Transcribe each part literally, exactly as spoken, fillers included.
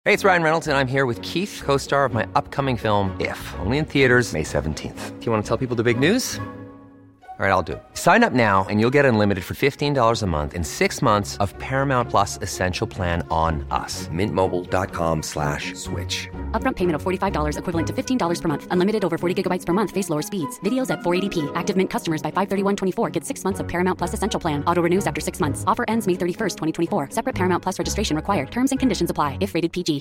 Hey, it's Ryan Reynolds, and I'm here with Keith, co-star of my upcoming film, If, only in theaters May seventeenth. Do you want to tell people the big news? All right, I'll do it. Sign up now and you'll get unlimited for fifteen dollars a month and six months of Paramount Plus Essential Plan on us. Mint Mobile dot com slash switch. Upfront payment of forty-five dollars equivalent to fifteen dollars per month. Unlimited over forty gigabytes per month. Face lower speeds. Videos at four eighty p. Active Mint customers by five thirty-one twenty-four get six months of Paramount Plus Essential Plan. Auto renews after six months. Offer ends May thirty-first, twenty twenty-four. Separate Paramount Plus registration required. Terms and conditions apply if rated P G.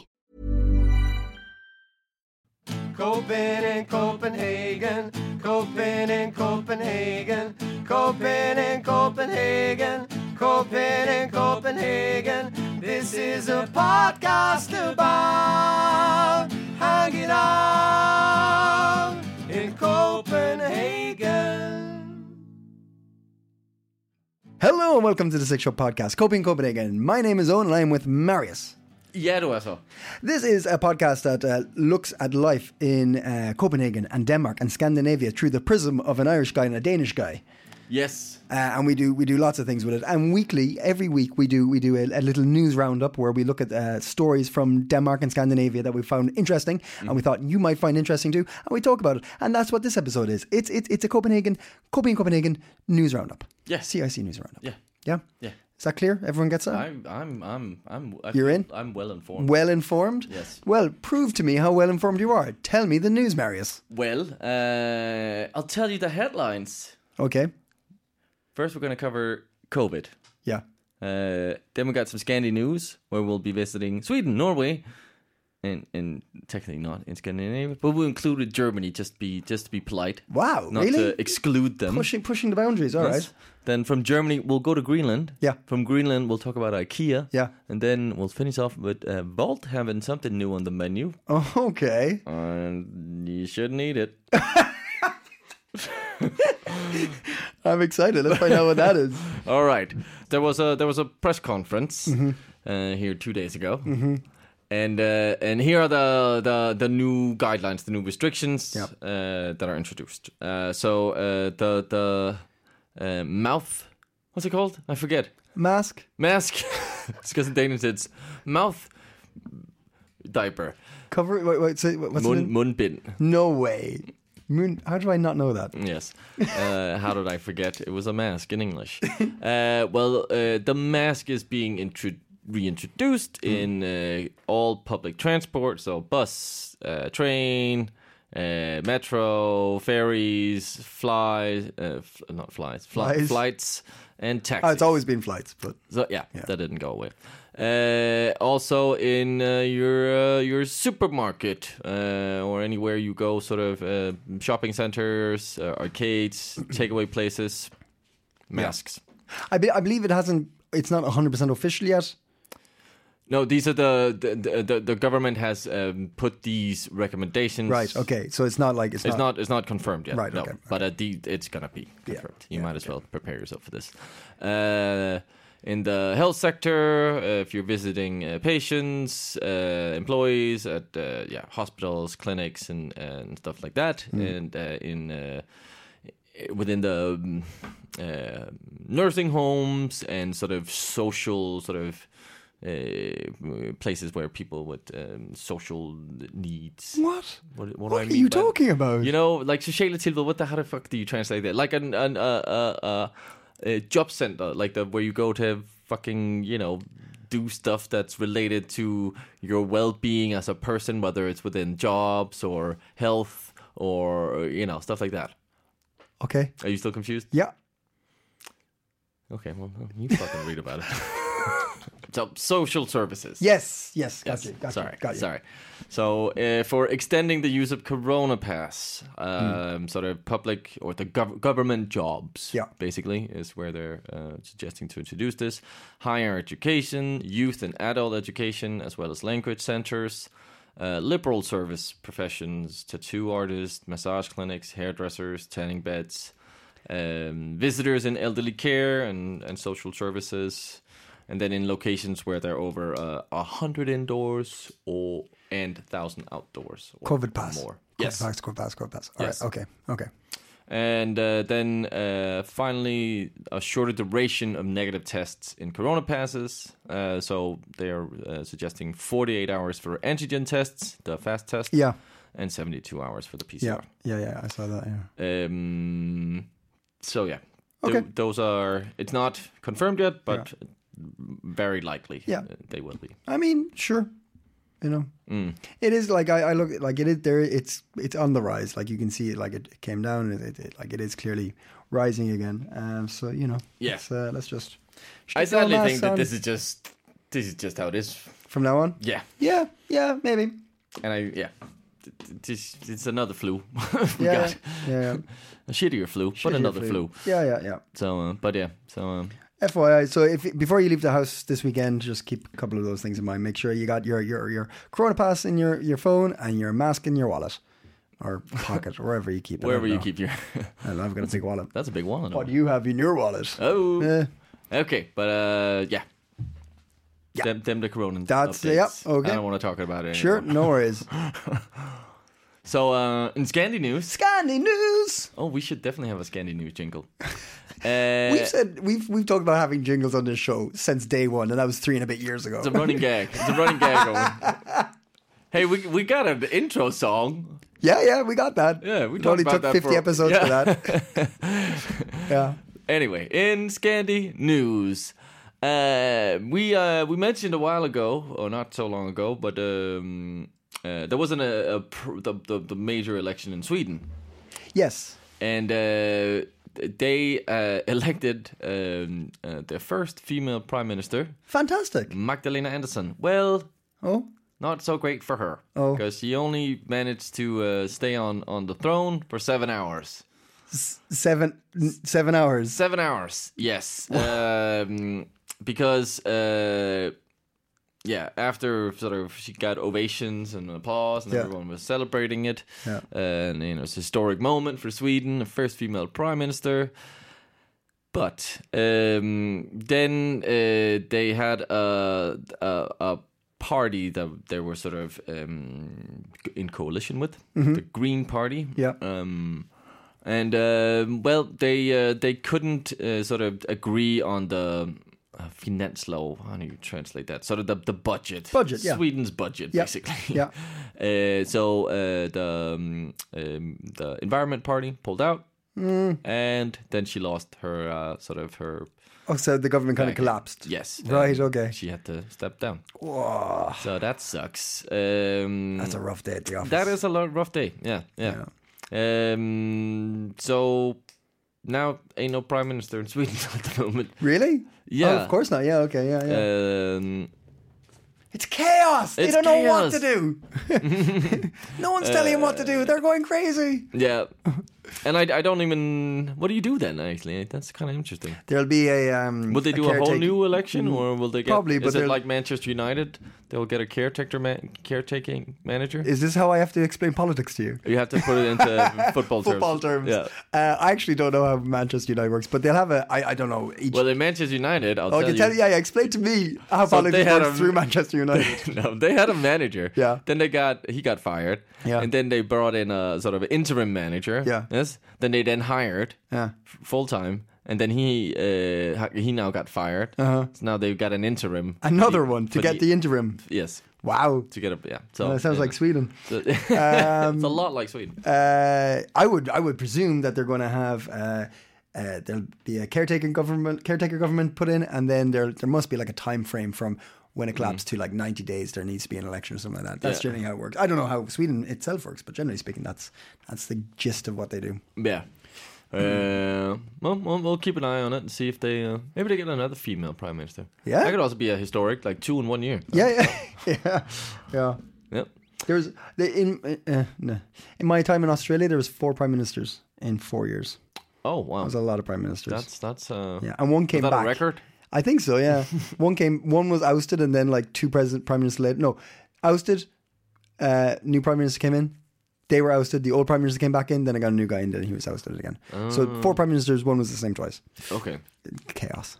Copen in Copenhagen, Copen in Copenhagen, Copen in Copenhagen, Copen in Copenhagen. This is a podcast about hanging out in Copenhagen. Hello and welcome to the Six Show Podcast, Coping Copenhagen. My name is Owen and I am with Marius. Ja, du er så. This is a podcast that uh, looks at life in uh, Copenhagen and Denmark and Scandinavia through the prism of an Irish guy and a Danish guy. Yes. Uh, and we do we do lots of things with it. And weekly, every week, we do we do a, a little news roundup where we look at uh, stories from Denmark and Scandinavia that we found interesting, mm. and we thought you might find interesting too, and we talk about it. And that's what this episode is. It's it's it's a Copenhagen Copenhagen Copenhagen news roundup. Yeah. C I C news roundup. Yeah. Yeah. Yeah. Is that clear? Everyone gets that? I'm, I'm, I'm, I'm. I You're in? I'm well informed. Well informed? Yes. Well, prove to me how well informed you are. Tell me the news, Marius. Well, uh, I'll tell you the headlines. Okay. First, we're going to cover COVID. Yeah. Uh, then we got some Scandi news, where we'll be visiting Sweden, Norway, and and technically not in Scandinavia, but we'll include Germany just be just to be polite. Wow, not really? to exclude them. Pushing pushing the boundaries. All Yes. right. Then from Germany, we'll go to Greenland. Yeah. From Greenland, we'll talk about IKEA. Yeah. And then we'll finish off with uh, Volt having something new on the menu. Oh, okay. And you shouldn't eat it. I'm excited. Let's find out what that is. All right. There was a there was a press conference Mm-hmm. uh, here two days ago. Mm-hmm. And uh, and here are the, the, the new guidelines, the new restrictions Yep. uh, that are introduced. Uh, so uh, the the uh, mouth, what's it called? I forget. Mask. Mask. It's because in Danish it's mouth diaper. Cover. Wait, wait. Say what's Mun, it? in? mundbind. No way. Moon. How do I not know that? Yes. Uh, how did I forget? It was a mask in English. Uh, well, uh, the mask is being intro- reintroduced mm. in uh, all public transport, so bus, uh, train, uh, metro, ferries, flies, uh, f- not flies, fly- Flies. flights, and taxis. Oh, it's always been flights, but So yeah, Yeah. that didn't go away. Uh, also in uh, your uh, your supermarket uh, or anywhere you go, sort of uh, shopping centers, uh, arcades, takeaway places, masks. I, be, I believe it hasn't. It's not one hundred percent official yet. No, these are the the the, the government has um, put these recommendations. Right. Okay. So it's not like it's, It's not. not it's not confirmed yet. Right, No, okay, but uh, the, it's gonna be Yeah, confirmed. You yeah, might as okay. well prepare yourself for this. Uh, in the health sector, uh, if you're visiting uh, patients, uh, employees at uh, yeah hospitals, clinics, and and stuff like that, Mm. and uh, in uh, within the um, uh, nursing homes and sort of social sort of. Uh, places where people with um, social needs. What? What, what, What do I are mean you by- talking about? You know, like sociala tilbud. What the how the fuck do you translate that? Like an an uh, uh, uh, a job center, like the where you go to fucking you know do stuff that's related to your well-being as a person, whether it's within jobs or health or you know stuff like that. Okay. Are you still confused? Yeah. Okay, well you fucking read about it. So social services. Yes. Yes. Got Yes. you. Got sorry, you. Got you. sorry. So uh, for extending the use of Corona Pass, um, Hmm. sort of public or the gov- government jobs, Yeah. basically, is where they're uh, suggesting to introduce this. Higher education, youth and adult education, as well as language centers, uh, liberal service professions, tattoo artists, massage clinics, hairdressers, tanning beds, um, visitors in elderly care and, and social services. And then in locations where they're over uh, a hundred indoors or and thousand outdoors. Or COVID pass. More. COVID Yes. pass. COVID pass. COVID pass. All Yes. right. Okay. Okay. And uh, then uh, finally, a shorter duration of negative tests in corona passes. Uh, so they are uh, suggesting forty-eight hours for antigen tests, the fast test, Yeah. and seventy-two hours for the P C Yeah. R. Yeah. Yeah. I saw that. Yeah. Um, so yeah, Th- Okay. those are. It's not confirmed yet, but very likely. Yeah. uh, they will be. I mean, sure. You know, Mm. it is like I, I look like it is there. It's it's on the rise. Like you can see it. Like it came down. And it, it like it is clearly rising again. Um. So you know. Yeah. Let's, uh, let's just. I stick our sadly masks think that on this is just this is just how it is. from now on. Yeah, Yeah. Yeah. Maybe. and I yeah, Th- th- this it's another flu. we Yeah. got Yeah. Yeah. a shittier flu, but Shittier another flu. Yeah. Yeah. Yeah. So, uh, but yeah, so um, F Y I. So if before you leave the house this weekend, just keep a couple of those things in mind. Make sure you got your your your Corona Pass in your, your phone and your mask in your wallet or pocket, wherever you keep it. I wherever don't you know. keep your, I don't know, I've got a big wallet. that's a big one. What do you have in your wallet? Oh, Eh, okay, but uh, yeah. Yeah. Them, them the corona That's- updates. yeah, okay. I don't want to talk about it sure, anymore. no worries. So, uh, in Scandi news, Scandi news. oh, we should definitely have a Scandi news jingle. Uh, We've said we've we've talked about having jingles on this show since day one, and that was three and a bit years ago. it's a running gag. It's a running gag going. Hey, we we got an intro song. Yeah, yeah, we got that. Yeah, we It talked only about took that fifty for- episodes yeah. for that. Yeah. Anyway, in Scandi news, uh, we uh, we mentioned a while ago, or not so long ago, but um, uh, there wasn't a, a pr- the, the the major election in Sweden, Yes. and uh, they uh, elected um, uh, their first female prime minister, Fantastic. Magdalena Andersson. Well, Oh. not so great for her, Oh. because she only managed to uh, stay on on the throne for seven hours. Seven seven hours. Seven hours, yes. Um, because, uh, yeah, after sort of she got ovations and applause and Yeah. everyone was celebrating it. Yeah. And, you know, it's a historic moment for Sweden, the first female prime minister. But um, then uh, they had a, a, a party that they were sort of um, in coalition with, the Green Party. Yeah. Um, and um well, they uh, they couldn't uh, sort of agree on the uh, finanslov. How do you translate that? Sort of the the budget. Budget, yeah. Sweden's budget, Yeah. basically. Yeah. Uh, so uh, the um, um, the Environment Party pulled out, Mm. and then she lost her uh, sort of her. Oh, so the government kind of Back. collapsed. Yes. Right, um, okay. She had to step down. Whoa. So that sucks. Um, That's a rough day at the office. That is a lot rough day. Yeah, yeah. Um. So now ain't no prime minister in Sweden at the moment. Really? Yeah. Oh, of course not. Yeah, okay, yeah, yeah. Um. It's chaos. They It's don't know what chaos. to do. No one's telling them what to do. They're going crazy. Yeah. And I, I don't even. What do you do then? Actually, that's kind of interesting. There'll be a. Um, Will they do a, whole caretaking- new election, or will they get? Probably, but is it they'll- like Manchester United? They'll get a caretaker, man, caretaking manager. Is this how I have to explain politics to you? You have to put it into football terms. Football terms. Yeah. Uh, I actually don't know how Manchester United works, but they'll have a. I, I don't know. Each, Well, in Manchester United, I'll oh, tell you you. tell yeah, yeah. Explain to me how So they politics had works a- through Manchester United. No, they had a manager. Yeah. Then they got he got fired. Yeah. And then they brought in a sort of interim manager. Yeah. Yes. Then they then hired Yeah. full time, and then he uh, ha- he now got fired. Uh-huh. So now they've got an interim. Another He- one to but get he- the interim. yes Wow. to get a yeah. So Well, that sounds yeah. like Sweden. So- Um, it's a lot like Sweden. Uh, I would I would presume that they're going to have uh, uh, there'll be a caretaking government caretaker government put in, and then there there must be like a time frame from when it collapsed to like ninety days. There needs to be an election or something like that. That's Yeah. generally how it works. I don't know how Sweden itself works, but generally speaking, that's that's the gist of what they do. Yeah. Uh, well, well, we'll keep an eye on it and see if they uh, maybe they get another female prime minister. Yeah. That could also be a historic, like two in one year. Yeah, yeah, yeah, yeah. Yep. There was the- in uh, no. in my time in Australia, there was four prime ministers in four years. Oh wow. That was a lot of prime ministers. That's that's uh. yeah, and one came Was that back. a record? I think so. Yeah, one came. One was ousted, and then like two president prime ministers later. No, ousted. Uh, new prime minister came in. They were ousted. The old prime minister came back in. Then I got a new guy in. Then he was ousted again. So four prime ministers. One was the same twice. Okay. Chaos.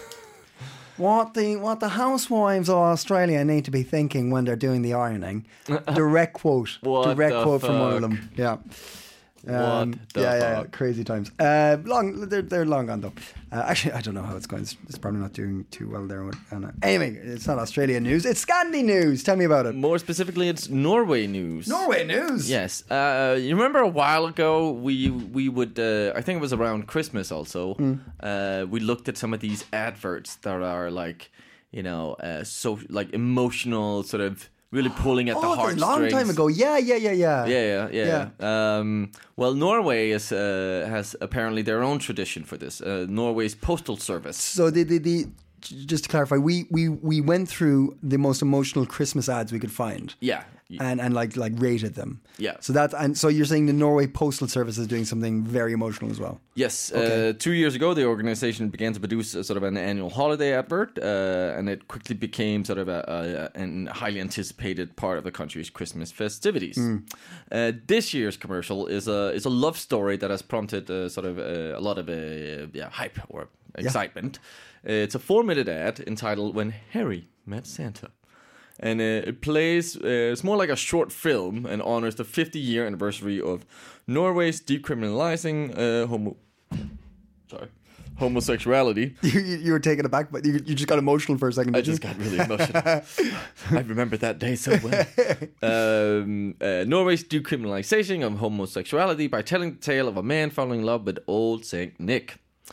What the what the housewives of Australia need to be thinking when they're doing the ironing? Direct quote. What direct the quote from one of fuck? them. Yeah. What the yeah, yeah, yeah, fuck? crazy times. Uh, long, they're they're long gone though. Uh, actually, I don't know how it's going. It's, it's probably not doing too well there. with- Uh, no. Anyway, it's not Australian news. It's Scandi news. Tell me about it. More specifically, it's Norway news. Norway news. Yes. Uh, you remember a while ago, we we would, uh, I think it was around Christmas also, Mm. uh, we looked at some of these adverts that are like, you know, uh, so like emotional, sort of really pulling at the Oh, that's a heartstrings. long time ago. Yeah, yeah, yeah, yeah. Yeah, yeah, yeah. Um, well, Norway is uh, has apparently their own tradition for this. Uh, Norway's postal service. So the, the the just to clarify, we we we went through the most emotional Christmas ads we could find. Yeah. And and like like rated them. Yeah. So that and so you're saying the Norway Postal Service is doing something very emotional as well. Yes. Okay. Uh, two years ago, the organization began to produce a, sort of an annual holiday advert, uh, and it quickly became sort of a, a, a highly anticipated part of the country's Christmas festivities. Mm. Uh, this year's commercial is a is a love story that has prompted uh, sort of uh, a lot of uh, yeah hype or excitement. Uh, it's a four-minute ad entitled "When Harry Met Santa." And uh, it plays, uh, it's more like a short film and honors the fifty-year anniversary of Norway's decriminalizing uh, homo... Sorry. homosexuality. You, you, you were taken aback, but you, you just got emotional for a second. I Did just you? got really emotional. I remember that day so well. Um, uh, Norway's decriminalization of homosexuality by telling the tale of a man falling in love with old Saint Nick.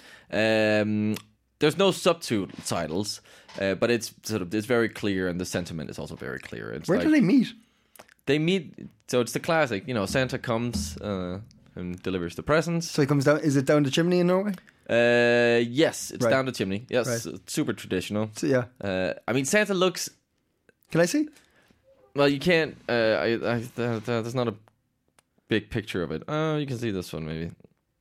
Um, there's no subtitles, uh, but it's sort of it's very clear, and the sentiment is also very clear. It's Where like, do they meet? They meet, so it's the classic, you know, Santa comes uh, and delivers the presents. So he comes down. Is it down the chimney in Norway? Uh, yes, it's Right. down the chimney. Yes, Right. it's super traditional. So, yeah. Uh, I mean, Santa looks. Can I see? Well, you can't. Uh, I, I, th- th- there's not a big picture of it. Oh, you can see this one maybe.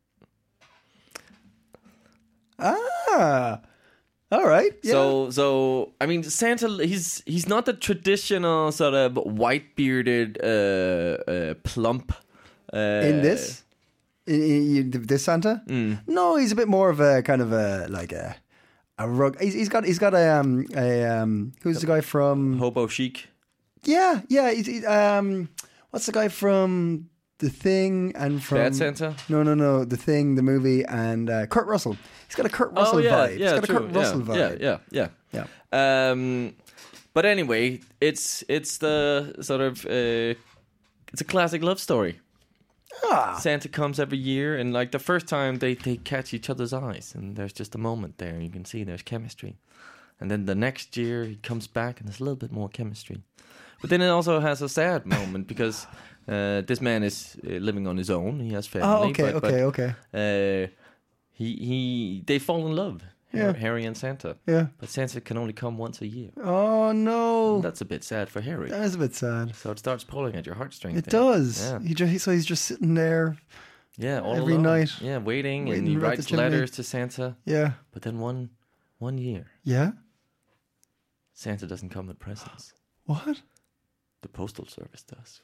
Ah. All right. Yeah. So, so I mean, Santa. He's he's not the traditional sort of white bearded, uh, uh, plump. Uh, in this, in, in, in this Santa, Mm. no, he's a bit more of a kind of a like a a rug. He's, he's got he's got a um a um who's the guy from? hobo chic. Yeah, yeah. He's, he, um, what's the guy from The Thing and from Bad Santa? No, no, no. The Thing, the movie, and uh, Kurt Russell. He's got a Kurt Russell oh yeah, vibe. yeah, he's got true. a Kurt Russell yeah, vibe. yeah, yeah, yeah, Yeah. Um, but anyway, it's it's the sort of uh, it's a classic love story. Ah. Santa comes every year, and like the first time they, they catch each other's eyes, and there's just a moment there. You can see there's chemistry, and then the next year he comes back, and there's a little bit more chemistry. But then it also has a sad moment because uh, this man is uh, living on his own. He has family. Oh, okay, but, okay, but, okay. Uh, he he they fall in love. Yeah. Harry and Santa. Yeah. But Santa can only come once a year. Oh no, That's a bit sad for Harry. that is a bit sad. So it starts pulling at your heartstrings. It there. does. Yeah. He just, so he's just sitting there. Yeah, all Every alone. night. Yeah, waiting, Waiting and he right writes the chimney. letters to Santa. Yeah. But then one one year, Yeah. Santa doesn't come with presents. What? The postal service does.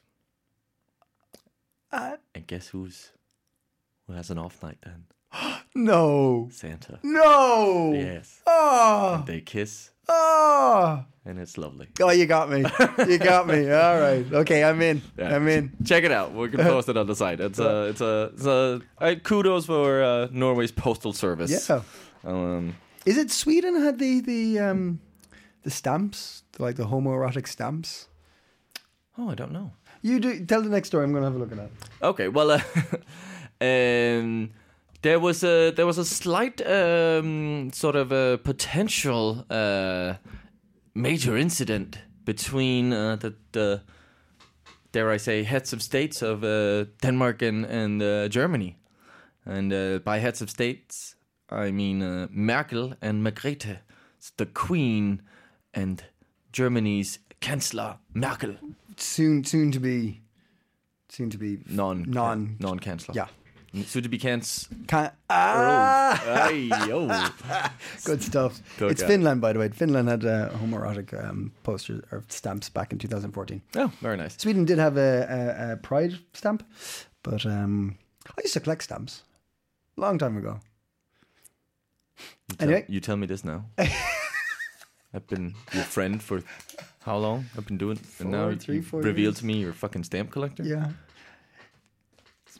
Uh, And guess who's who has an off night then? no. Santa. No. Yes. Oh. They kiss, Oh. and it's lovely. Oh, you got me. You got me. All right. Okay, I'm in. Yeah. I'm in. Check it out. We can post it on the site. It's a, it's a, it's a. Uh, kudos for uh, Norway's postal service. Yeah. Um, Is it Sweden had the the um the stamps, like the homoerotic stamps? oh, I don't know. You do tell the next story. I'm going to have a look at that. Okay, well, uh, um, there was a there was a slight um, sort of a potential uh, major incident between uh, the, the dare I say heads of states of uh, Denmark and and uh, Germany, and uh, by heads of states I mean uh, Merkel and Margrethe, the Queen, and Germany's Chancellor Merkel. Soon, soon to be, soon to be Non non non Chancellor. Yeah. Soon to be Cans. Can, ah, Ay, yo. good stuff. Took It's out. Finland, by the way. Finland had uh, homoerotic um, posters or stamps back in two thousand fourteen. Oh, very nice. Sweden did have a, a, a pride stamp, but um, I used to collect stamps long time ago. You tell, Anyway. you tell me this now. I've been your friend for how long? I've been doing, and now Four, you three, four revealed years. to me you're a fucking stamp collector. Yeah. It's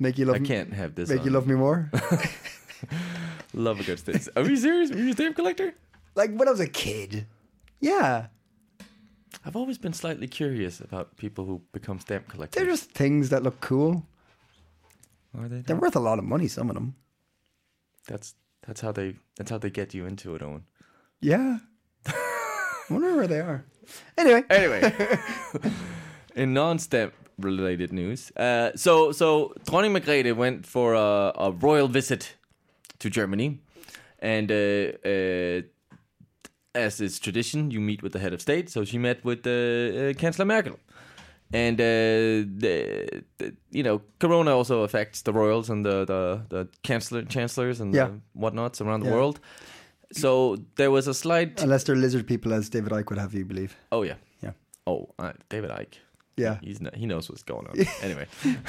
Make you love I me. can't have this. Make on. you love me more. Love a good stamp. Are you serious? Are you a stamp collector? Like when I was a kid. Yeah. I've always been slightly curious about people who become stamp collectors. They're just things that look cool. Are they? They're worth a lot of money, some of them. That's that's how they that's how they get you into it, Owen. Yeah. I wonder where they are. Anyway. Anyway, in non-stamp related news, uh, so so Dronning Margrethe went for a, a royal visit to Germany, and uh, uh, as is tradition, you meet with the head of state. So she met with uh, uh, Chancellor Merkel. And, uh, the, the, you know, Corona also affects the royals and the, the, the chancellor, chancellors and Yeah. the whatnots around the Yeah. world. So there was a slight... Unless they're lizard people, as David Icke would have you believe. Oh, yeah. Yeah. Oh, uh, David Icke. Yeah. He's not, he knows what's going on. Anyway.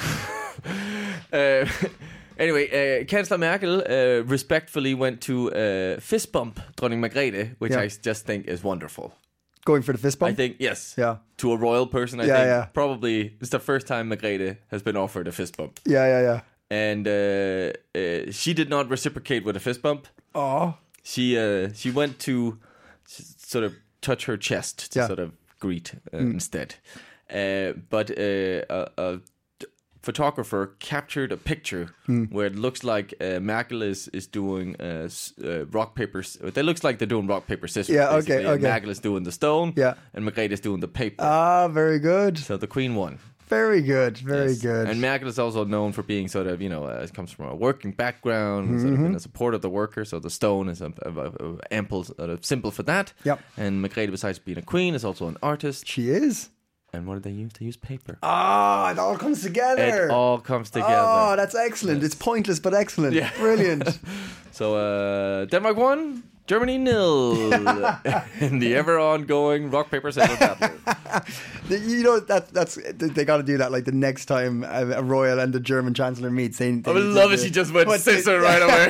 uh, anyway, uh, Chancellor Merkel uh, respectfully went to uh, fist bump Dronning Margrethe, which Yeah. I just think is wonderful. Going for the fist bump? I think, yes. Yeah. To a royal person, I Yeah, think yeah. probably it's the first time Margrethe has been offered a fist bump. Yeah, yeah, yeah. And uh, uh, she did not reciprocate with a fist bump. Oh. She uh, she went to s- sort of touch her chest to Yeah. sort of greet uh, instead. Uh, but uh, a, a d- photographer captured a picture where it looks like uh, Merkel is is doing uh, s- uh, rock paper. s- It looks like they're doing rock paper scissors. Yeah, okay, basically, and okay. Merkel is doing the stone. Yeah. And Margrethe is doing the paper. Ah, very good. so the Queen won. Very good. Very Yes. good. And Merkel is also known for being sort of, you know, uh, comes from a working background, sort Mm-hmm. of in a support of the worker. So the stone is a, a, a, a ample sort of symbol for that. Yep. And Margrethe, besides being a queen, is also an artist. She is. And what did they use? They use paper. Ah, it all comes together. It all comes together. Oh, that's excellent. It's pointless but excellent. Yeah. Brilliant. So uh, Denmark won, Germany nil in the ever ongoing rock paper scissors battle. The- you know that that's they got to do that like the next time a, a royal and the German chancellor meet. They, they I would need love to- if she just went What they- scissor right away.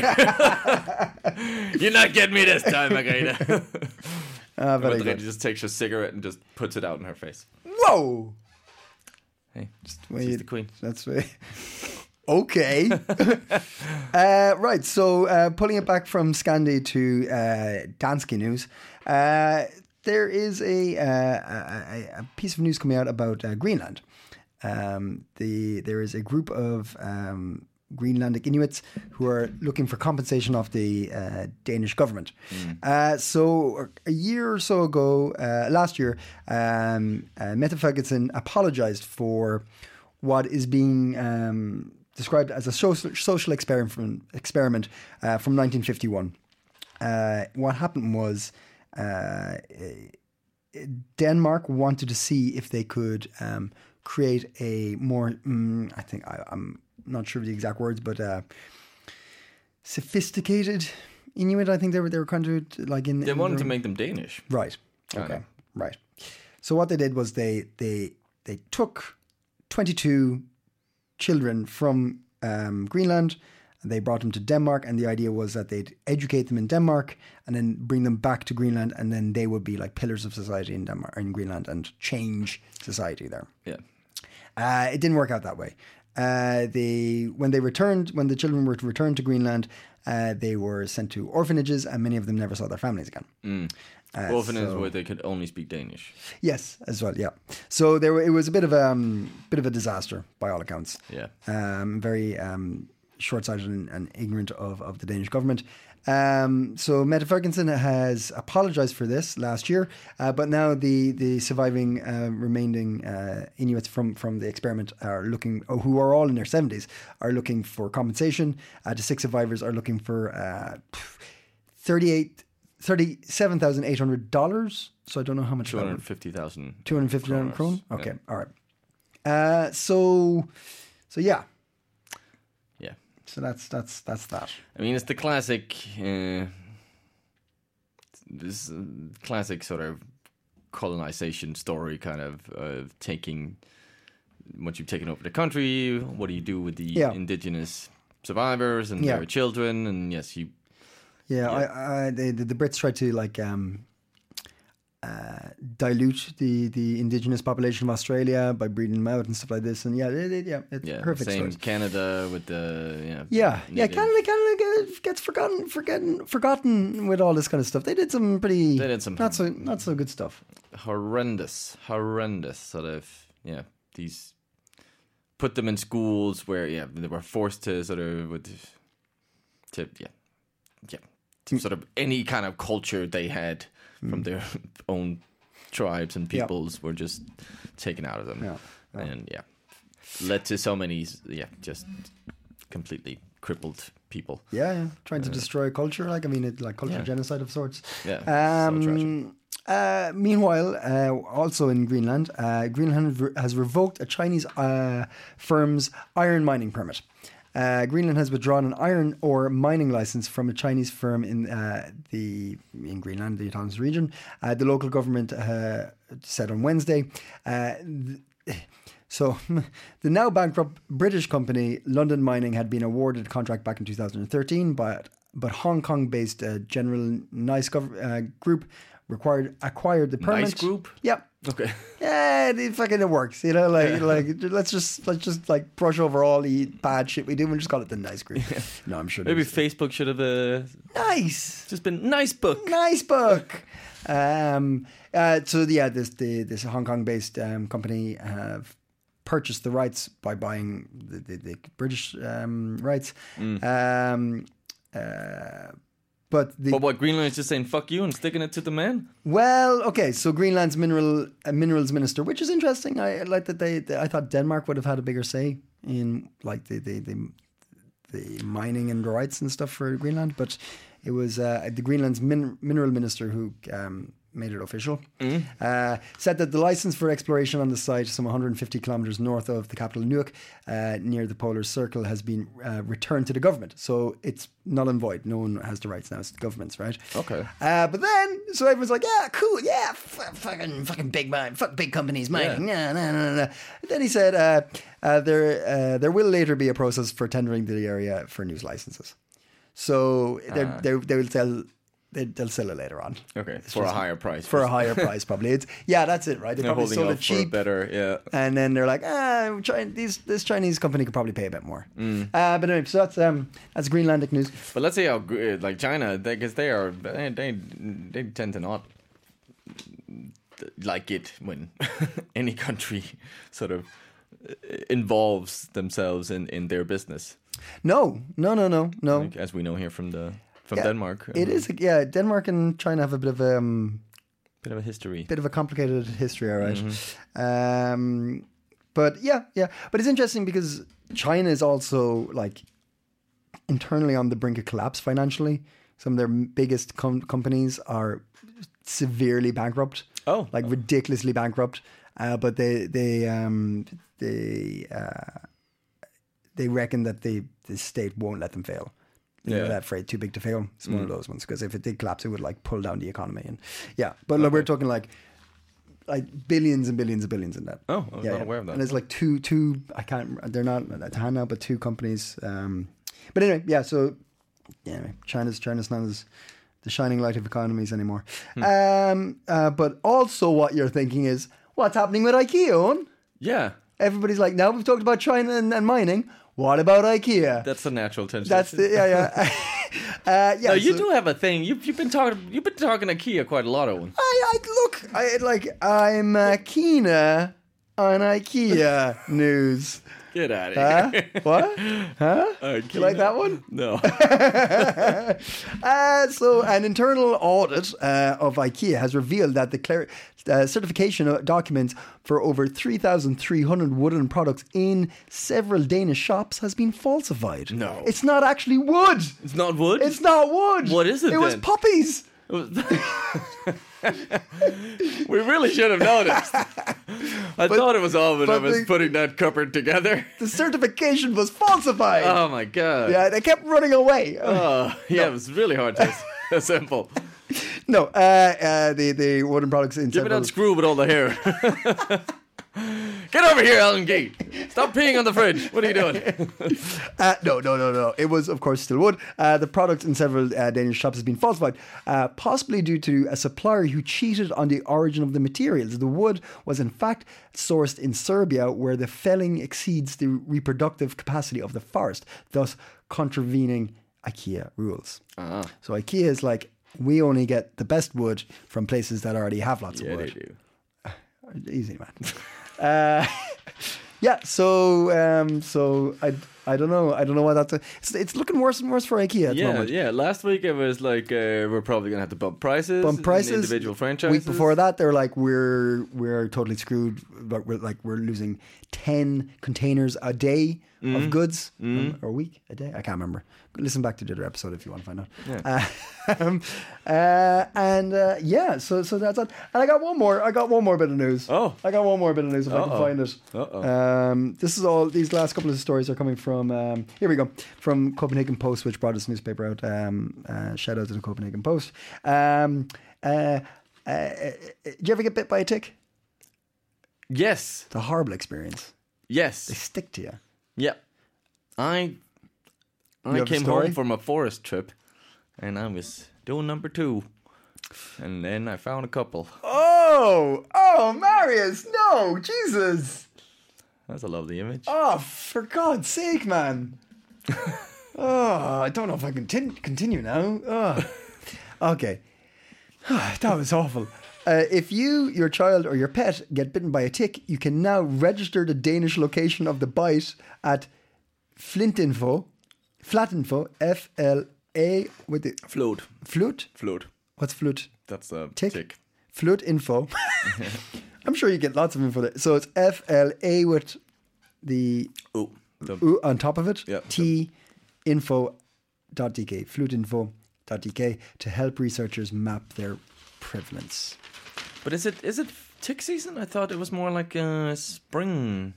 You're not getting me this time, Margrethe. Ah, very Margrethe good. just takes her cigarette and just puts it out in her face. Whoa. Hey, just, Well, she's you- the queen. That's way. Okay. uh, right. So uh, pulling it back from Scandi to uh, Danske news, uh, there is a, uh, a a piece of news coming out about uh, Greenland. Um, the there is a group of um, Greenlandic Inuits who are looking for compensation of the uh, Danish government. Uh, so a year or so ago, uh, last year, um, uh, Mette Frederiksen apologized for what is being um, described as a social, social experiment, experiment uh, from nineteen fifty-one. Uh, what happened was uh, Denmark wanted to see if they could um, create a more, mm, I think, I, I'm not sure of the exact words, but uh, sophisticated Inuit. I think they were they were kind of like in. They in wanted their- to make them Danish. Right. Kind Okay. of. Right. So what they did was they they they took twenty-two children from um, Greenland and they brought them to Denmark, and the idea was that they'd educate them in Denmark and then bring them back to Greenland, and then they would be like pillars of society in Denmark, in Greenland, and change society there. Yeah. Uh, it didn't work out that way. Uh, they when they returned, when the children were to return to Greenland, uh, they were sent to orphanages, and many of them never saw their families again. Uh, Orphanage so- where they could only speak Danish. Yes, as well. Yeah. So there, were, it was a bit of a um, bit of a disaster by all accounts. Yeah. Um, very um, short-sighted and, and ignorant of, of the Danish government. Um, so Mette Frederiksen has apologized for this last year, uh, but now the the surviving uh, remaining uh, Inuits from, from the experiment are looking, oh, who are all in their seventies, are looking for compensation. Uh, the six survivors are looking for uh, thirty-eight. thirty-seven thousand eight hundred dollars. So I don't know how much. two hundred fifty thousand. Two hundred fifty thousand kroners. krone. Okay, Yeah. all right. Uh, so, so yeah. Yeah. So that's that's that's that. I mean, it's the classic, uh, this uh, classic sort of colonization story, kind of of taking once you've taken over the country. What do you do with the Yeah. indigenous survivors and Yeah. their children? And yes, you Yeah, I, I, the, the the Brits tried to like um, uh, dilute the, the indigenous population of Australia by breeding them out and stuff like this. And yeah, it, it, yeah, it's Yeah, perfect same story. Canada with the yeah. Yeah, yeah, native- Canada, Canada gets- gets forgotten, forgotten, forgotten with all this kind of stuff. They did some pretty, They did some- not so, not so good stuff. horrendous, horrendous sort of yeah. These put them in schools where yeah they were forced to sort of with to yeah yeah to sort of any kind of culture they had from their own tribes and Yeah. peoples were just taken out of them. Yeah, yeah. And yeah, led to so many yeah just completely crippled people. Yeah, yeah. Trying to destroy culture. Like, I mean, it, like cultural Yeah. genocide of sorts. Yeah, so tragic. Um, uh, meanwhile, uh, also in Greenland, uh, Greenland re- has revoked a Chinese uh, firm's iron mining permit. Uh, Greenland has withdrawn an iron ore mining license from a Chinese firm in uh, the in Greenland, the autonomous region. Uh, the local government uh, said on Wednesday. Uh, th- So, the now bankrupt British company London Mining had been awarded a contract back in two thousand thirteen, but but Hong Kong-based uh, General Nice Gov- uh, Group required acquired the permit. Nice Group? Yep. Okay. Yeah, it fucking it works. You know, like like let's just let's just like brush over all the bad shit we do and just call it the Nice Group. No, I'm sure. Maybe there's- Facebook should have uh, nice. just been nice book. Nice book. Um, uh, so yeah, this the this Hong Kong-based um, company have purchased the rights by buying the, the, the British um, rights. Um, uh, but the But what, Greenland is just saying fuck you and sticking it to the man? well, okay. So Greenland's mineral uh, minerals minister, which is interesting. I I like that they, they. I thought Denmark would have had a bigger say in like the the the, the mining and the rights and stuff for Greenland, but it was uh, the Greenland's min- mineral minister who um, made it official. Uh, said that the license for exploration on the site, some one hundred fifty kilometers north of the capital Nuuk, uh, near the polar circle, has been uh, returned to the government. So it's null and void. No one has the rights now. It's the government's, right? Okay. Uh, but then, so everyone's like, yeah, cool, yeah, f- fucking, fucking big mine, fuck big companies mining, yeah, no, no, no, no. Then he said, uh, uh, there, uh, there will later be a process for tendering the area for news licenses. So they Ah. they they will tell. They, they'll sell it later on. Okay, for a higher price. For a higher price, probably. It's yeah, that's it, right? They They're probably holding sold out it for a cheap, better, yeah. and then they're like, ah, China, these this Chinese company could probably pay a bit more. Mm. Uh, but anyway, so that's um that's Greenlandic news. But let's see how gr- like China, because they are they, they they tend to not like it when any country sort of involves themselves in, in their business, No, no, no, no, no. like, as we know here from the from Yeah, Denmark. It is, yeah. Denmark and China have a bit of a um, bit of a history. bit of a complicated history, all right. Mm-hmm. Um, but yeah, yeah. But it's interesting because China is also like internally on the brink of collapse financially. Some of their biggest com- companies are severely bankrupt. Oh. like ridiculously bankrupt. Uh, but they they um they uh, they reckon that the the state won't let them fail. You know, Yeah. that phrase, too big to fail. It's one of those ones because if it did collapse, it would like pull down the economy. And yeah, but like, we're talking like like billions and billions and billions in that. Oh, I was not aware of that. And it's like two two. I can't. They're not at hand now, but two companies. Um, but anyway, yeah. So yeah, anyway, China's China's not as the shining light of economies anymore. Hmm. Um, uh, but also, what you're thinking is, what's happening with IKEA? Owen? Yeah, Everybody's like, now we've talked about China and, and mining. What about IKEA? that's the natural tension. That's the yeah yeah. uh, yeah. No, you so- do have a thing. You've you've been talking you've been talking IKEA quite a lot, Owen. I, I look. I like. I'm uh, keener on IKEA news. Get out of Huh? here. What? Huh? IKEA. You like that one? No. Uh, so, an internal audit uh, of IKEA has revealed that the clar- uh, certification documents for over three thousand three hundred wooden products in several Danish shops has been falsified. No. It's not actually wood. It's not wood. It's not wood. What is it It was then? puppies. It was- we really should have noticed. I thought it was all when I but was the- putting that cupboard together. The certification was falsified. Oh my god. Yeah, they kept running away. Oh, yeah, it was really hard to assemble. No, uh, uh, the the wooden products in Give me several. that screw with all the hair. Get over here, Alan Gee. Stop peeing on the fridge. What are you doing? Uh, no, no, no, no. It was, of course, still wood. Uh, the product in several uh, Danish shops has been falsified, uh, possibly due to a supplier who cheated on the origin of the materials. The wood was, in fact, sourced in Serbia, where the felling exceeds the reproductive capacity of the forest, thus contravening IKEA rules. Uh-huh. So IKEA is like, we only get the best wood from places that already have lots yeah, of wood. They do. Easy, man. uh, yeah, so um, so I, I don't know. I don't know why that's. A, it's, it's looking worse and worse for IKEA at yeah, the moment. Yeah, Last week it was like uh, we're probably gonna have to bump prices. Bump prices. In individual franchises. Week before that, they're like, we're we're totally screwed. But we're like we're losing ten containers a day mm. of goods mm. um, or a week, a day. I can't remember. Listen back to the other episode if you want to find out. Yeah. Uh, um, uh, and uh, yeah, so so that's it. And I got one more. I got one more bit of news. Oh, I got one more bit of news if Uh-oh. I can find it. Uh-oh. Um, this is all. These last couple of stories are coming from. Um, here we go. From Copenhagen Post, which brought this newspaper out. Um, uh, shout out to the Copenhagen Post. Um, uh, uh, did you ever get bit by a tick? Yes. It's a horrible experience. Yes. They stick to you. Yeah. I I have a came story? home from a forest trip, and I was doing number two, and then I found a couple. Oh, oh, Marius, no, Jesus. That's a lovely image. Oh, for God's sake, man. Oh, I don't know if I can tin- continue now. Oh. Okay. That was awful. Uh, if you, your child, or your pet get bitten by a tick, you can now register the Danish location of the bite at Flintinfo, Flatinfo, F L A with the Float. Flute. Float. What's flute? That's a Tick. tick. Flute info. I'm sure you get lots of info there. So it's F L A with the Oh. The, U on top of it. Yeah. T info dot d k. Fluteinfo dot d k to help researchers map their prevalence. but is it is it tick season? I thought it was more like uh, spring.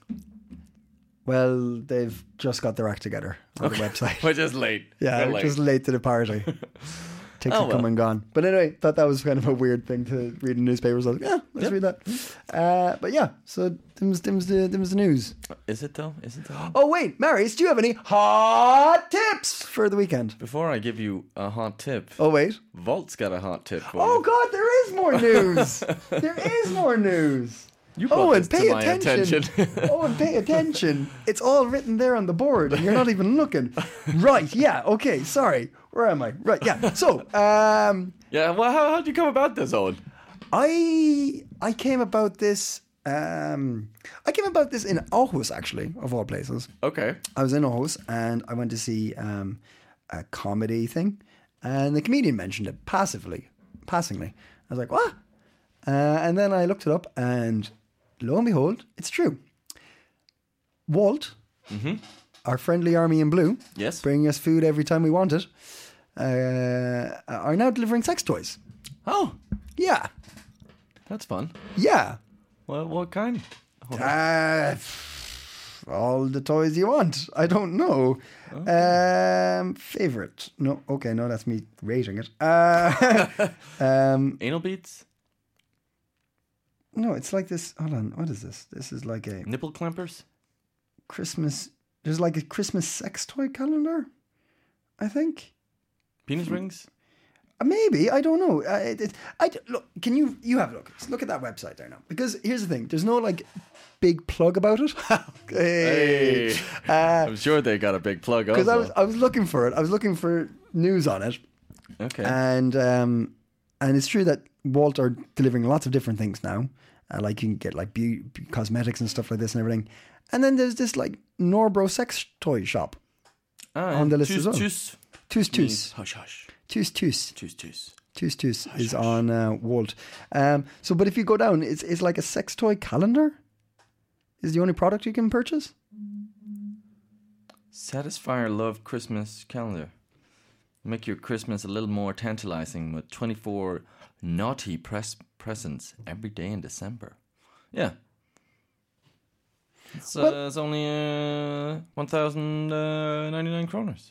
Well, they've just got their act together on the website. We're just late. Yeah, We're we're late. just late to the party. Ticks Oh, have come well. and gone. But anyway, thought that was kind of a weird thing to read in newspapers. I was like, yeah, let's Yep. read that. Uh, but yeah, so them's, them's, the, them's the news. Is it though? Is it though? Oh, wait, Marius, do you have any hot tips for the weekend? Before I give you a hot tip, Oh, wait. Volt's got a hot tip for Oh, you. God, there is more news. There is more news. You brought Oh, and this pay to my attention. attention. Oh, and pay attention. It's all written there on the board, and you're not even looking. Right, yeah, okay, sorry. Where am I? Right, yeah. So, um, Yeah, well, how how did you come about this, Owen? I I came about this. Um, I came about this in Aarhus, actually, of all places. Okay. I was in Aarhus, and I went to see um, a comedy thing, and the comedian mentioned it passively, passingly. I was like, what? Uh, and then I looked it up, and lo and behold, it's true. Walt, Mm-hmm. our friendly army in blue, Yes. bringing us food every time we want it, uh, are now delivering sex toys. Oh, Yeah, that's fun. yeah. Well, what kind? Uh, all the toys you want. I don't know. Um, favorite? No. Okay, no, that's me rating it. Uh, um, Anal beads? no, it's like this. Hold on. What is this? This is like a Nipple clampers? Christmas. There's like a Christmas sex toy calendar. I think. Penis rings? Uh, Maybe I don't know. Uh, it, it, I d- look. Can you you have a look? Just look at that website there now. Because here's the thing. There's no like big plug about it. Hey. Uh, I'm sure they got a big plug Because also. I was I was looking for it. I was looking for news on it, Okay. and um, and it's true that Walt are delivering lots of different things now. Uh, like you can get like beauty, cosmetics and stuff like this and everything. And then there's this like Norbro sex toy shop. ah, on the list tus, as well. Tus Tus means Tus hush hush. Tus Tus Tus tus. Tus Tus is on uh, Walt. Um, so, but if you go down, it's it's like a sex toy calendar. Is the only product you can purchase. Satisfyer Love Christmas Calendar. Make your Christmas a little more tantalizing with twenty-four naughty press presents every day in December. Yeah. It's, uh, Well- it's only uh, one thousand ninety-nine kroners.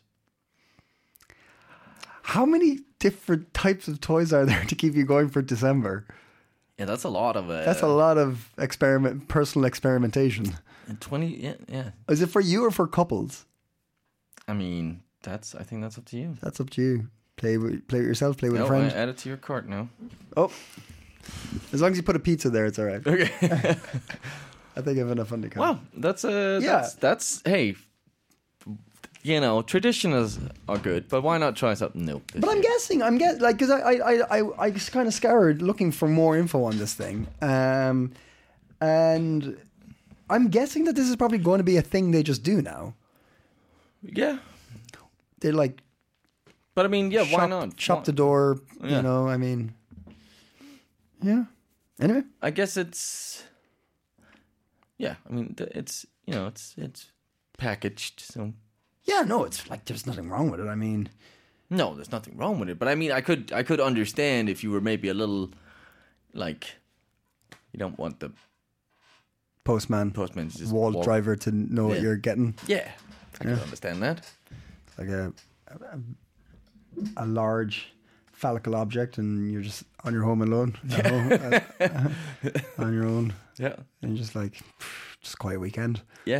How many different types of toys are there to keep you going for December? Yeah, that's a lot of. Uh, That's a lot of experiment, personal experimentation. twenty. Yeah, yeah. Is it for you or for couples? I mean, that's. I think that's up to you. That's up to you. Play with, play with yourself. Play with No, a friend. I add it to your cart now. Oh, as long as you put a pizza there, it's all right. Okay. I think I have enough fun to count. Well, that's uh, Yeah. that's, that's hey. You know, traditions are good, but why not try something new? this But I'm year? guessing, I'm guess like because I I I I, I just kind of scoured looking for more info on this thing, um, and I'm guessing that this is probably going to be a thing they just do now. Yeah, They're like, but I mean, yeah, shop, why not? shop Why- the door, you Yeah. know. I mean, yeah. Anyway, I guess it's. Yeah, I mean, th- it's you know, it's it's packaged, so. yeah, no, it's like there's nothing wrong with it. I mean, No, there's nothing wrong with it. But I mean, I could I could understand if you were maybe a little, like, you don't want the postman, postman to just wall walk- driver to know what Yeah. you're getting. Yeah, I can understand that. Like a, a a large phallical object, and you're just on your home alone, at home, uh, on your own, Yeah, and you're just like, just quiet weekend. yeah.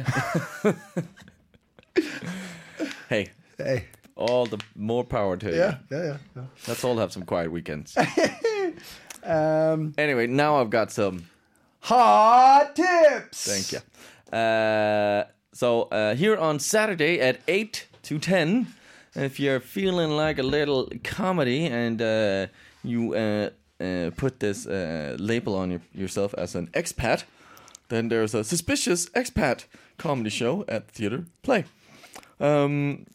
Hey, Hey, all the more power to you. yeah, yeah, yeah. yeah. Let's all have some quiet weekends. Um, Anyway, now I've got some. hot tips. Thank you. Uh, so uh, here on Saturday at eight to ten, if you're feeling like a little comedy and uh, you uh, uh, put this uh, label on your, yourself as an expat, then there's a suspicious expat comedy show at Theatre Play. Um,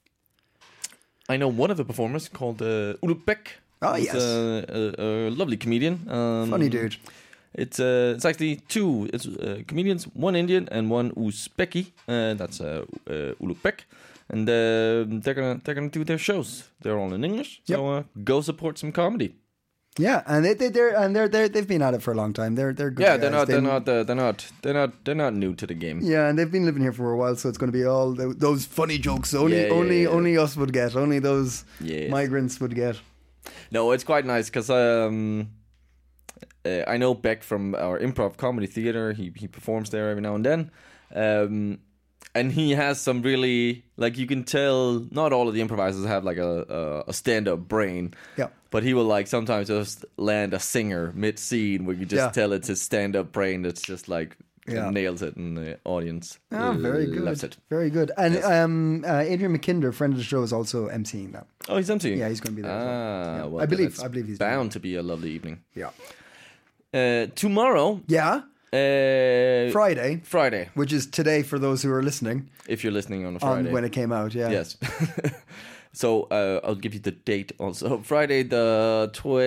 I know one of the performers called uh, Uluk Beck. Oh, who's yes. a, a, a lovely comedian. Um, Funny dude. It's uh, it's actually two it's uh, comedians, one Indian and one Uzbeki. Uh, that's uh, uh, Uluk Beck, and uh, they're gonna they're gonna do their shows. They're all in English, so uh, go support some comedy. Yeah, and they, they they're and they're they they've been at it for a long time. They're they're good Yeah, guys. they're not They- they're not uh, they're not they're not they're not new to the game. Yeah, and they've been living here for a while, so it's going to be all th- those funny jokes. Only Yeah, yeah, only yeah. only us would get. Only those Yes. migrants would get. No, it's quite nice because um, uh, I know Beck from our improv comedy theater. He he performs there every now and then, um, and he has some really like you can tell. Not all of the improvisers have like a a, a stand up brain. Yeah. But he will like sometimes just land a singer mid scene where you just Yeah. tell it's his stand up brain that's just like Yeah. nails it, and the audience Ah, very good. loves it. Very good. And Yes. um, uh, Adrian McKinder, friend of the show, is also emceeing that. Oh, he's empty. Yeah, he's going to be there as well. Ah, Yeah. well, I believe- that's I believe he's doing bound to be a lovely evening. Yeah. Uh, tomorrow, Yeah. uh, Friday, Friday, which is today for those who are listening, if you're listening on a on Friday. when it came out. Yeah. Yes. So uh, I'll give you the date also. Friday the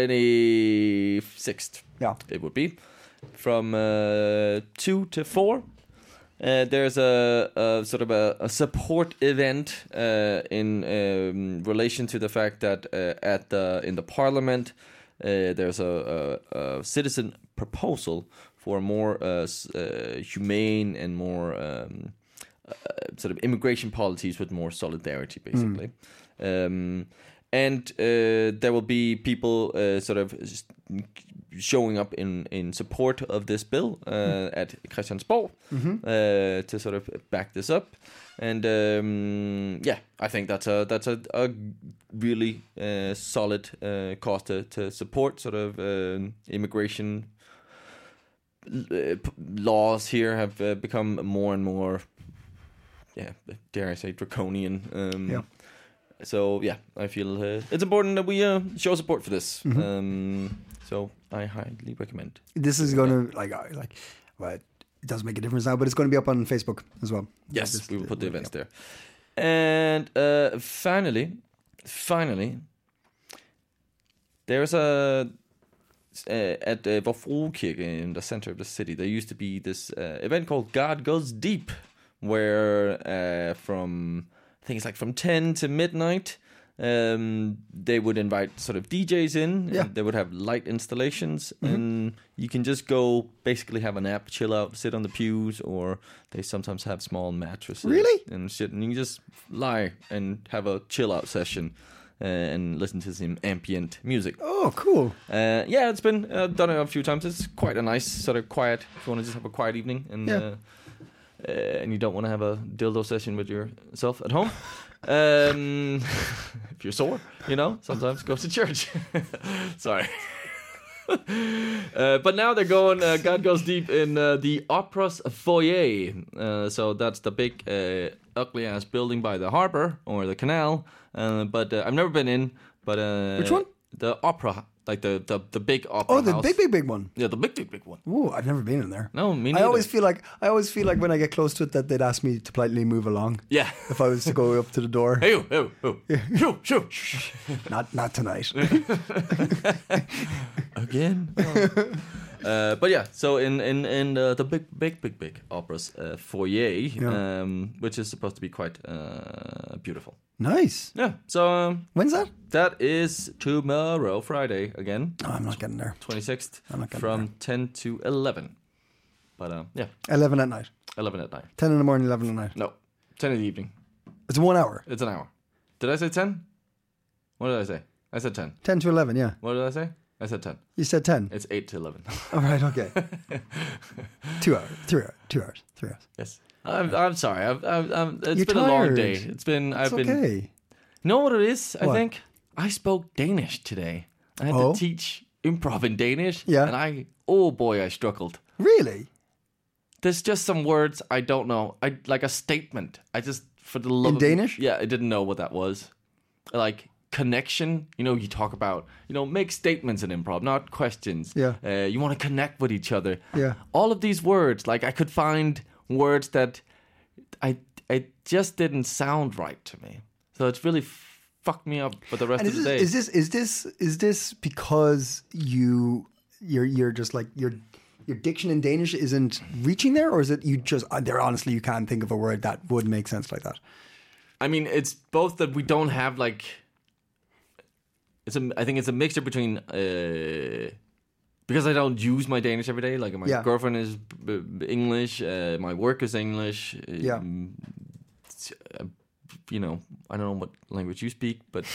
twenty-sixth. Yeah. It would be from uh, two to four. Uh, there's a, a sort of a, a support event uh, in um, relation to the fact that uh, at the in the parliament uh, there's a, a, a citizen proposal for more uh, s- uh, humane and more um, uh, sort of immigration policies with more solidarity, basically. Um, and uh, there will be people uh, sort of s- showing up in, in support of this bill uh, at Christiansborg uh, to sort of back this up. And um, yeah, I think that's a that's a, a really uh, solid uh, cause to, to support sort of uh, immigration uh, p- laws here have uh, become more and more, yeah, dare I say, draconian. Um, Yeah. So yeah, I feel uh, it's important that we uh, show support for this. Mm-hmm. Um, so I highly recommend. This is going to like uh, like, well, it doesn't make a difference now, but it's going to be up on Facebook as well. Yes, This- we will put the yeah. events there. And uh, finally, finally, there's a uh, at uh, Vor Frue Kirke in the center of the city. There used to be this uh, event called God Goes Deep, where uh, from I think it's like from ten to midnight, um, they would invite sort of D Js in. Yeah. And they would have light installations, and you can just go basically have a nap, chill out, sit on the pews, or they sometimes have small mattresses. Really? And shit, and you can just lie and have a chill out session. uh, and listen to some ambient music. Oh, cool. Uh, yeah, it's been uh, done it a few times. It's quite a nice sort of quiet. If you want to just have a quiet evening, and Yeah. uh, uh, and you don't want to have a dildo session with yourself at home. Um, if you're sore, you know, sometimes go to church. Sorry. uh, but now they're going. Uh, God Goes Deep in uh, the Opera's foyer. Uh, so that's the big, uh, ugly ass building by the harbor or the canal. Uh, but uh, I've never been in. But uh, Which one? The opera, like the the, the big opera. Oh, the house. big, big, big one. Yeah, the big, big, big one. Ooh, I've never been in there. No, me I neither. always feel like I always feel like when I get close to it that they'd ask me to politely move along. Yeah. If I was to go up to the door. Hey, oh, oh, oh. Shoo, shoo. Not not tonight. Again. Oh. Uh, but yeah, so in in in uh, the big, big, big, big opera's uh, foyer, Yeah. um, which is supposed to be quite uh, beautiful. Nice. Yeah. So um, When's that? that is tomorrow, Friday again, Oh, I'm not getting there. twenty-sixth, I'm not getting from ten to eleven. But uh, yeah, Eleven at night. eleven at night. Ten in the morning, eleven at night. No, ten in the evening. It's one hour. It's an hour. Did I say ten? What did I say? I said ten. Ten to eleven. Yeah. What did I say? I said ten. You said ten. It's eight to eleven. All right. Okay. Two hours. Three hours. Two hours. Three hours. Yes. I'm, I'm sorry. I've, I've, I'm, it's You're been a long tired. day. It's been. It's I've been. okay. You know what it is? I What? think I spoke Danish today. I had Oh? to teach improv in Danish. Yeah. And I, oh boy, I struggled. Really? There's just some words I don't know. I like a statement. I just for the love In of Danish? Yeah, I didn't know what that was. Like connection. You know, you talk about you know make statements in improv, not questions. Yeah. Uh, you want to connect with each other. Yeah. All of these words, like I could find words that I I just didn't sound right to me. So it's really fucked me up for the rest And of is the this, day. is this is this is this because you you're you're just like your your diction in Danish isn't reaching there, or is it you just uh, there honestly you can't think of a word that would make sense like that? I mean, it's both that we don't have like. It's a. I think it's a mixture between uh, because I don't use my Danish every day. Like my Yeah. girlfriend is b- b- English, uh, my work is English. uh, Yeah. uh, you know, I don't know what language you speak, but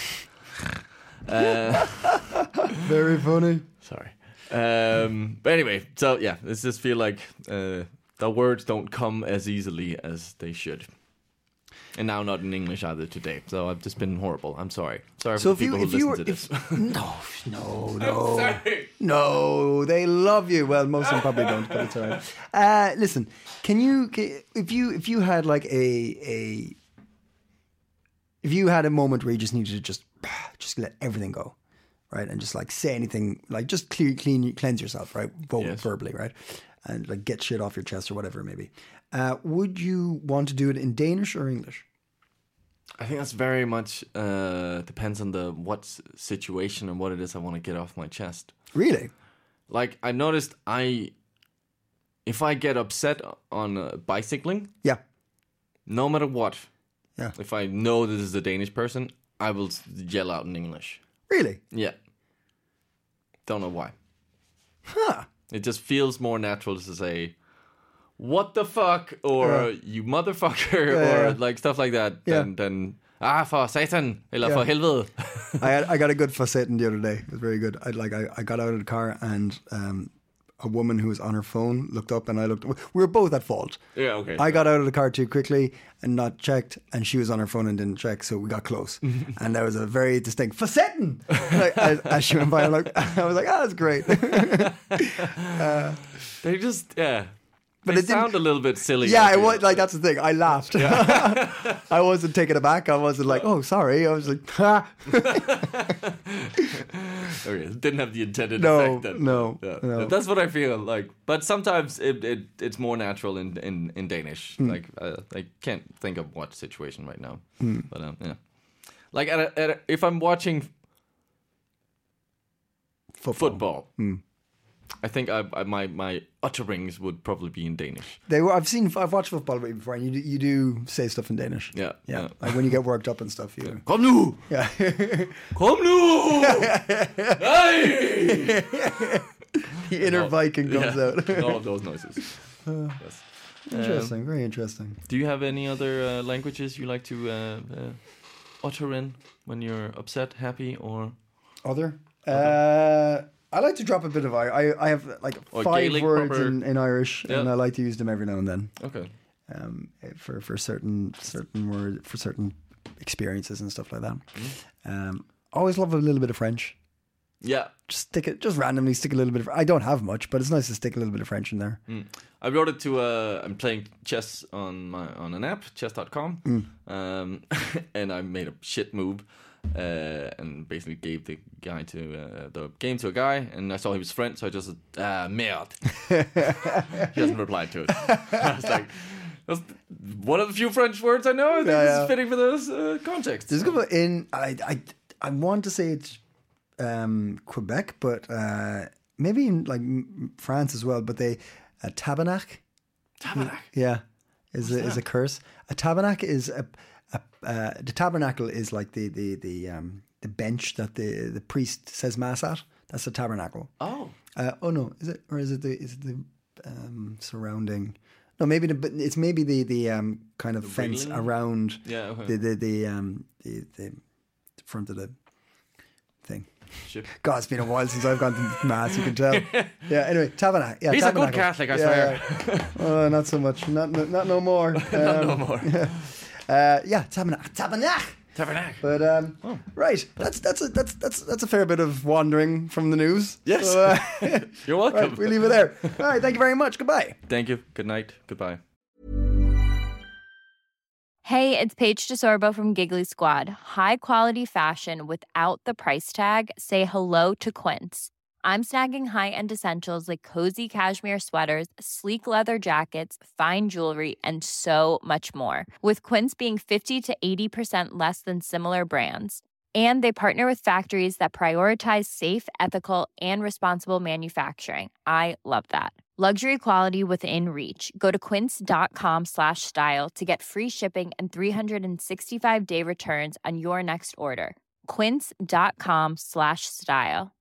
uh, Very funny. sorry. Um, but anyway, so yeah, it's just feel like uh, the words don't come as easily as they should. And now not in English either today. So I've just been horrible. I'm sorry. Sorry So for if the you people if who you listen were to this. if, no no no no they love you. Well, most of them probably don't, but it's all right. Uh, listen, can you ca- if you if you had like a a if you had a moment where you just needed to just just let everything go, right, and just like say anything, like just clear, clean, cleanse yourself, right, Vo- Yes. verbally, right, and like get shit off your chest or whatever it may be. Uh, would you want to do it in Danish or English? I think that's very much uh, depends on the what s- situation and what it is I want to get off my chest. Really? Like I noticed, I if I get upset on uh, bicycling, Yeah. no matter what, Yeah. if I know this is a Danish person, I will s- yell out in English. Really? Yeah, don't know why. Huh. It just feels more natural to say, "What the fuck," or Yeah. "You motherfucker," Yeah, or yeah. like stuff like that. Yeah. Than, than ah for satan, eller Yeah. for helvede. I had, I got a good fuss the other day. It was very good. I like I, I got out of the car and um, a woman who was on her phone looked up and I looked. We were both at fault. Yeah, okay. I got out of the car too quickly and not checked, and she was on her phone and didn't check, so we got close. And there was a very distinct "Facetten" like, as, as she went by. I'm like, I was like, "Ah, that's great." They just yeah. But they it didn't- sound a little bit silly. Yeah, like it you- was like that's the thing. I laughed. I wasn't taken aback. I wasn't like, "Oh, sorry." I was like, "Ha." Okay, it didn't have the intended No, effect. Then. no, Yeah. no. That's what I feel like. But sometimes it, it it's more natural in in, in Danish. Hmm. Like uh, I can't think of what situation right now. But um, yeah, like at a, at a, if I'm watching Football. football, I think I, I, my my utterings would probably be in Danish. They were. I've seen. I've watched football before, and you do, you do say stuff in Danish. Yeah, yeah. yeah. Like when you get worked up and stuff. You. Kom nu! Yeah. Kom nu! Hey! The inner Viking comes Yeah, out. all of those noises. Yes. Interesting. Very interesting. Do you have any other uh, languages you like to uh, uh, uttering when you're upset, happy, or Other. Uh, I like to drop a bit of I. I, I have like Or five Gaelic words proper- in, in Irish, Yeah. and I like to use them every now and then. okay? Um, for for certain certain word for certain experiences and stuff like that. Um, always love a little bit of French. Yeah. Just stick it, just randomly stick a little bit of. I don't have much, but it's nice to stick a little bit of French in there. Mm. I wrote it to. Uh, I'm playing chess on my on an app, chess dot com, Mm. um, and I made a shit move, uh, and basically gave the guy to uh, the game to a guy, and I saw he was French, so I just said, ah, merde. He hasn't replied to it. I was like, that's one of the few French words I know. I think Yeah, this yeah. is fitting for this uh, context. There's a couple in. I I I want to say it's um, Quebec, but uh, maybe in like m- France as well. But they a tabernacle. Tabernacle. Yeah, is a, is a curse. A tabernacle is a, a uh, the tabernacle is like the the the um the bench that the the priest says mass at. That's a tabernacle. Oh. Uh, oh no, is it or is it the is it the um, surrounding? No, maybe the but it's maybe the the um kind of fence railing? around Yeah, okay. the the the um the, the front of the thing. Shit. God, it's been a while since I've gone to mass. You can tell. Yeah. Anyway, tabernacle. Yeah, He's a good tabernacle. Catholic, I Yeah, swear. yeah. Oh, not so much. Not not, not no more. Not no Um, more. Uh, yeah, tabernacle. Tabernacle. Tabernacle. But um, right, that's that's a that's that's that's a fair bit of wandering from the news. Yes. So, uh, You're welcome. right, we leave it there. All right, thank you very much. Goodbye. Thank you. Good night. Goodbye. Hey, it's Paige DeSorbo from Giggly Squad. High quality fashion without the price tag. Say hello to Quince. I'm snagging high-end essentials like cozy cashmere sweaters, sleek leather jackets, fine jewelry, and so much more. With Quince being fifty to eighty percent less than similar brands. And they partner with factories that prioritize safe, ethical, and responsible manufacturing. I love that. Luxury quality within reach. Go to quince.com slash style to get free shipping and three sixty-five day returns on your next order. Quince.com slash style.